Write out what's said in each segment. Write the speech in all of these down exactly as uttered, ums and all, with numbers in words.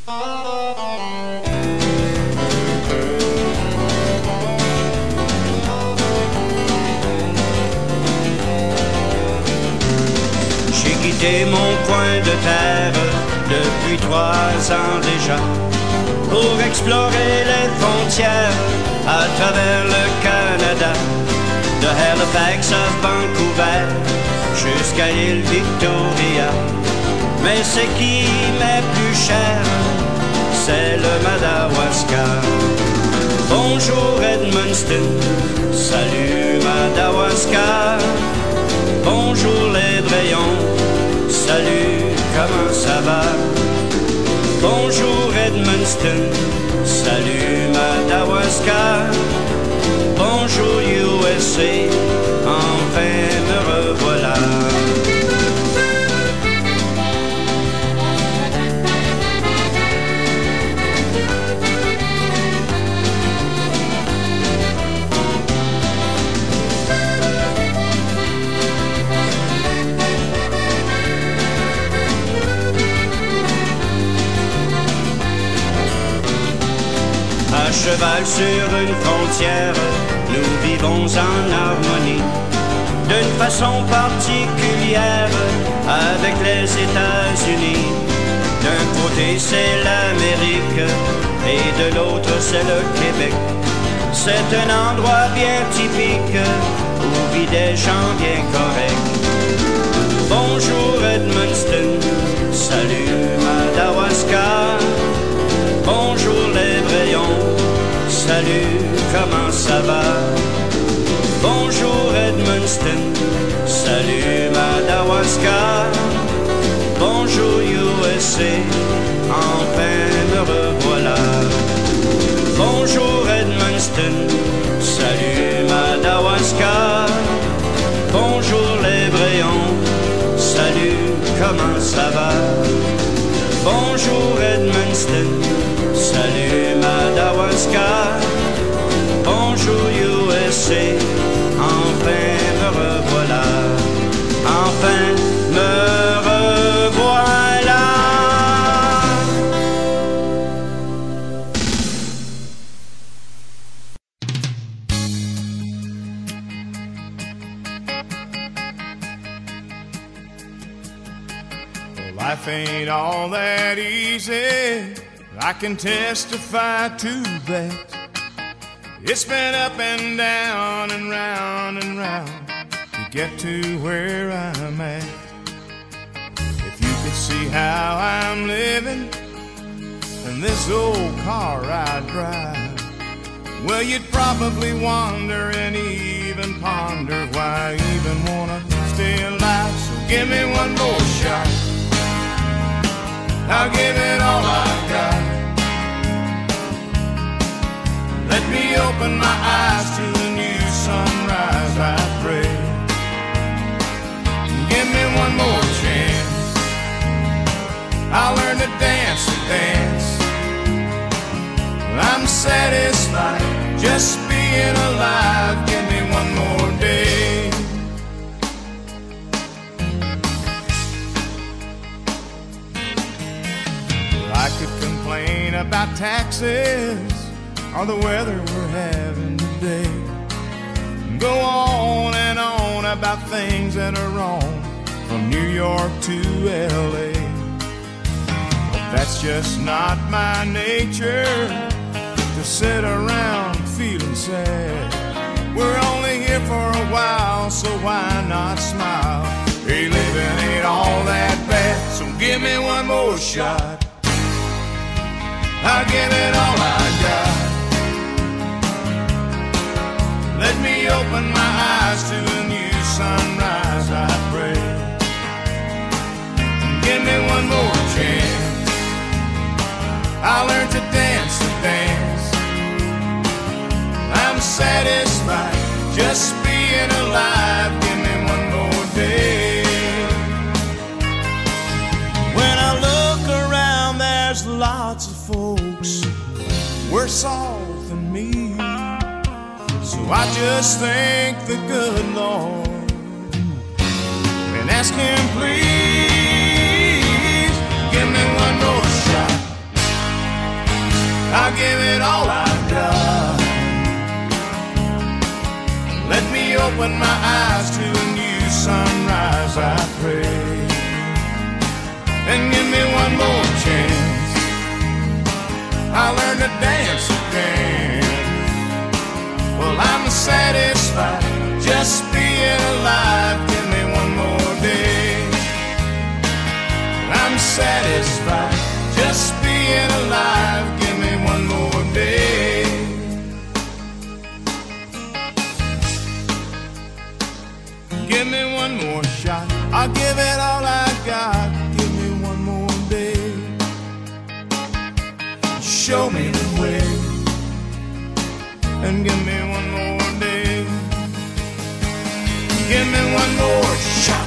J'ai quitté mon coin de terre depuis trois ans déjà pour explorer les frontières à travers le Canada, de Halifax à Vancouver jusqu'à l'île Victoria. Mais ce qui m'est plus cher, c'est le Madawaska. Bonjour Edmundston, salut Madawaska. Bonjour les Brayons, salut, comment ça va? Bonjour Edmundston, salut Madawaska. Bonjour U S A, enfin me revoilà. À cheval sur une frontière, nous vivons en harmonie, d'une façon particulière avec les États-Unis. D'un côté c'est l'Amérique et de l'autre c'est le Québec. C'est un endroit bien typique où vivent des gens bien corrects. Bonjour Edmundston, salut Madawaska. Bonjour les Brayons, salut, comment ça va? Bonjour Edmundston, salut Madawaska. Bonjour U S A, enfin me revoilà. Bonjour Edmundston, salut Madawaska. Bonjour les Brayons, salut, comment ça va? Bonjour Edmundston, salut Madawaska. Bonjour U S A, enfin me revoilà. Enfin me revoilà. Life ain't all that easy, I can testify to that. It's been up and down and round and round to get to where I'm at. If you could see how I'm living in this old car I drive, well, you'd probably wonder and even ponder why I even wanna stay alive. So give me one more shot, I'll give it all I got. Let me open my eyes to a new sunrise, I pray. Give me one more chance, I'll learn to dance and dance. I'm satisfied just being alive. Give me one more day. I could complain about taxes or the weather we're having today, go on and on about things that are wrong from New York to L A. But that's just not my nature, to sit around feeling sad. We're only here for a while, so why not smile? Hey, living ain't all that bad, so give me one more shot, I'll give it all I got. Let me open my eyes to a new sunrise, I pray. Give me one more chance, I'll learn to dance and dance. I'm satisfied just being alive. Give me one more day. When I look around, there's lots of folks worse off than me. So I just thank the good Lord and ask Him, please, give me one more shot, I'll give it all I've got. Let me open my eyes to a new sunrise, I pray. And give me one more chance, I'll learn to dance again. Well, I'm satisfied just being alive. Give me one more day. I'm satisfied just being alive. Give me one more day. Give me one more shot, I'll give it all I got. Give me one more day. Show me the way. And give me one more day. Give me one more shot.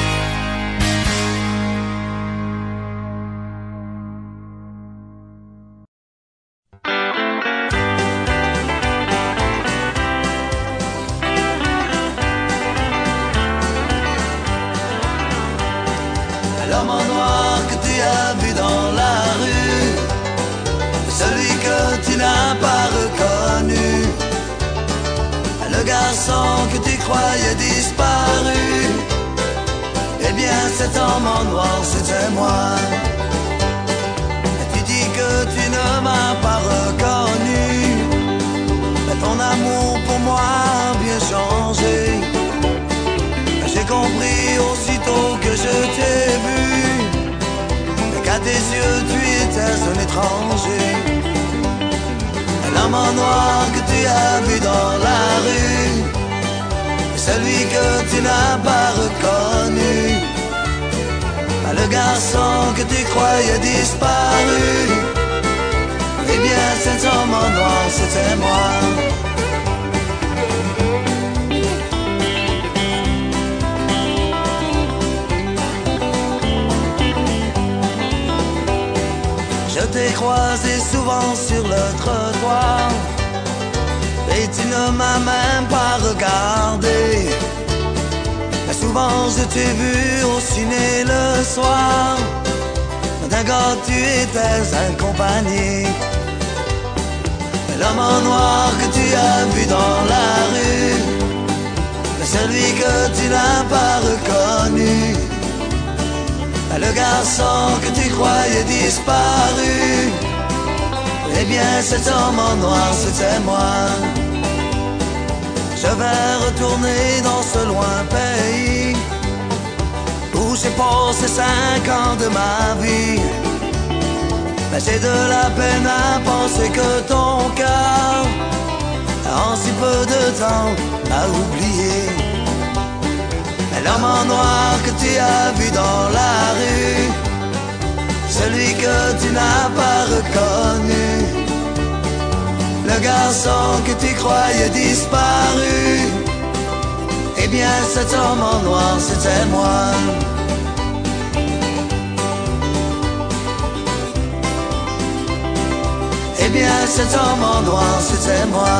L'homme en noir que tu as vu dans la rue, celui que tu n'as pas reconnu, le garçon que tu croyais disparu, eh bien cet homme en noir c'était moi. Et tu dis que tu ne m'as pas reconnu, mais ton amour pour moi a bien changé. J'ai compris aussitôt que je t'ai vu, qu'à tes yeux tu étais un étranger. L'homme en noir que tu as vu dans la rue, celui que tu n'as pas reconnu, le garçon que tu croyais disparu, eh bien cet homme en noir c'était moi. Je t'ai croisé souvent sur le trottoir, et tu ne m'as même pas regardé. Mais souvent je t'ai vu au ciné le soir, d'un gars tu étais accompagné. L'homme en noir que tu as vu dans la rue, celui que tu n'as pas reconnu, le garçon que tu croyais disparu, eh bien cet homme en noir c'était moi. Je vais retourner dans ce loin pays où j'ai passé cinq ans de ma vie. Mais j'ai de la peine à penser que ton cœur, en si peu de temps, m'a oublié. L'homme en noir que tu as vu dans la rue, celui que tu n'as pas reconnu, le garçon que tu croyais disparu, eh bien cet homme en noir c'était moi. Eh bien cet homme en noir c'était moi.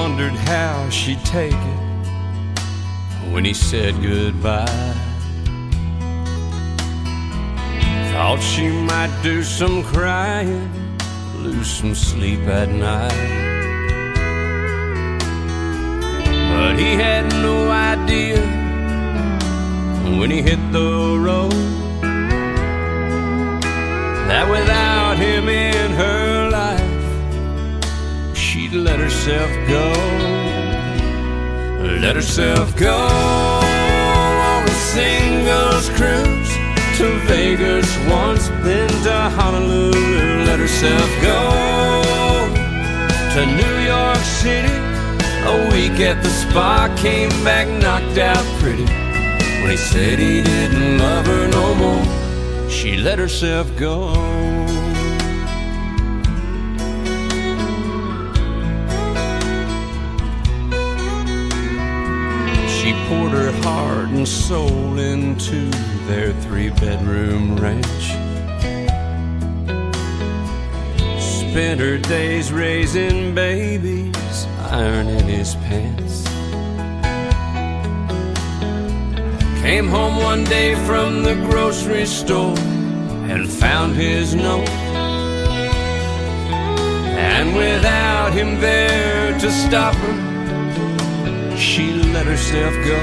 wondered how she'd take it when he said goodbye. Thought she might do some crying, lose some sleep at night. But he had no idea when he hit the road that without him in her life, she'd let herself go. Let herself go on a singles cruise to Vegas once, then to Honolulu. Let herself go to New York City, a week at the spa, came back knocked out pretty. When he said he didn't love her no more, she let herself go. She poured her heart and soul into their three-bedroom ranch, spent her days raising babies, ironing his pants. Came home one day from the grocery store and found his note, and without him there to stop her, she let herself go.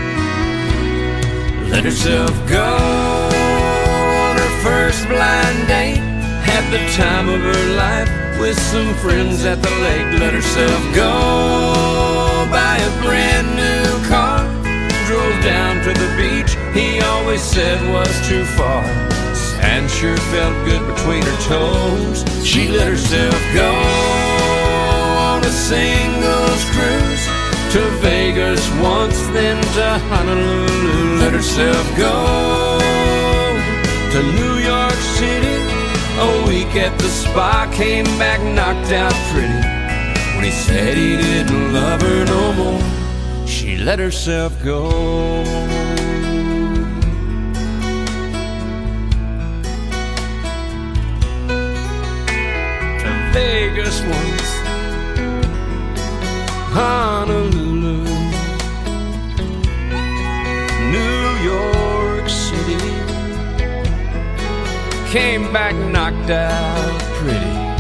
Let herself go on her first blind date, had the time of her life with some friends at the lake. Let herself go buy a brand new car, drove down to the beach he always said was too far. Sand sure felt good between her toes. She let herself go on a singles cruise to Vegas once, then to Honolulu. Let herself go to New York City, a week at the spa, came back knocked out pretty. When he said he didn't love her no more, she let herself go. To Vegas once, Honolulu, New York City, came back knocked out pretty.